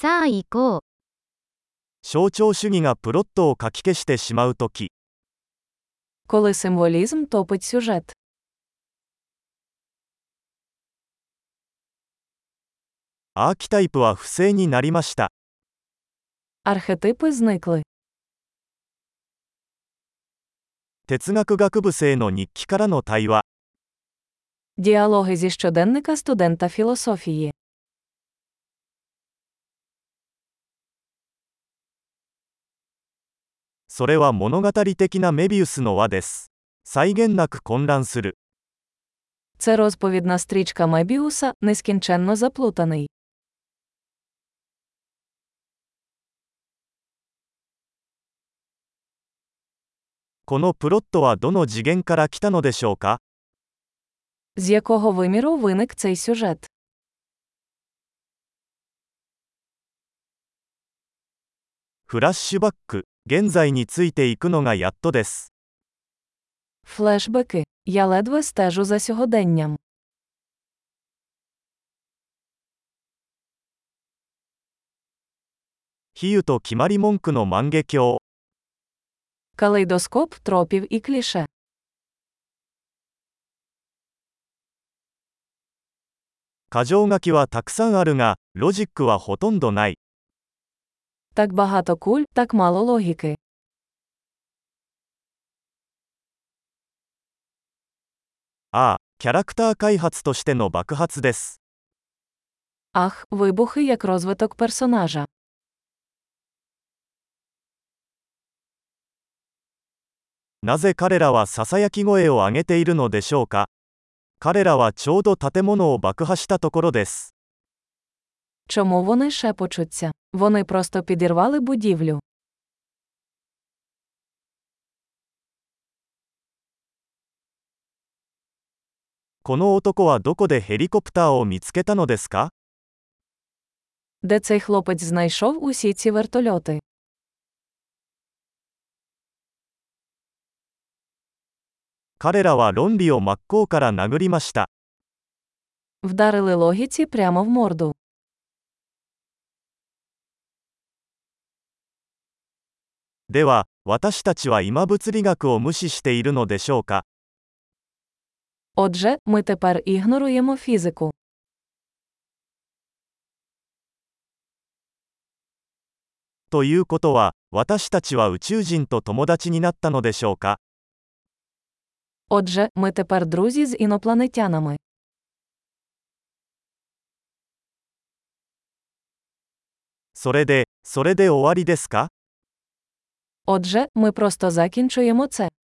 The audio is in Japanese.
さあ行こう。 象徴主義がプロットをかき消してしまうとき、 Коли символізм топить сюжет. アーキタイプは不正になりました。 Архетипи зникли. 哲学学部生の日記からの対話。 Діалоги зі щоденника студента філософії. それは物語的なメビウスの輪です。際限なく混乱する。 Це розповідна стрічка Мебіуса, нескінченно заплутаний. このプロットはどの次元から来たのでしょうか。 З якого виміру виник цей сюжет? フラッシュバック、現在についていくのがやっとです。 Флешбеки. Я ледве стежу за сьогоденням. 比喩と決まり文句の万華鏡。 Калейдоскоп тропів і кліше. 箇条書きはたくさんあるが、ロジックはほとんどない。 Так багато куль, так мало логіки. ああ、キャラクター開発としての爆発です。 Ах, вибухи як розвиток персонажа. なぜ彼らはささやき声を上げているのでしょうか。彼らはちょうど建物を爆破したところです。 Чому вони шепочуться? Вони просто підірвали будівлю. この男はどこでヘリコプターを見つけたのですか。 Де цей хлопець знайшов усі ці вертольоти? 彼らは論理を真っ向から殴りました。 Вдарили логіці прямо в морду. では、私たちは今物理学を無視しているのでしょうか。 Отже, ми тепер ігноруємо фізику. ということは、私たちは宇宙人と友達になったのでしょうか。 Отже, ми тепер друзі з інопланетянами. それで終わりですか。 Отже, ми просто закінчуємо це.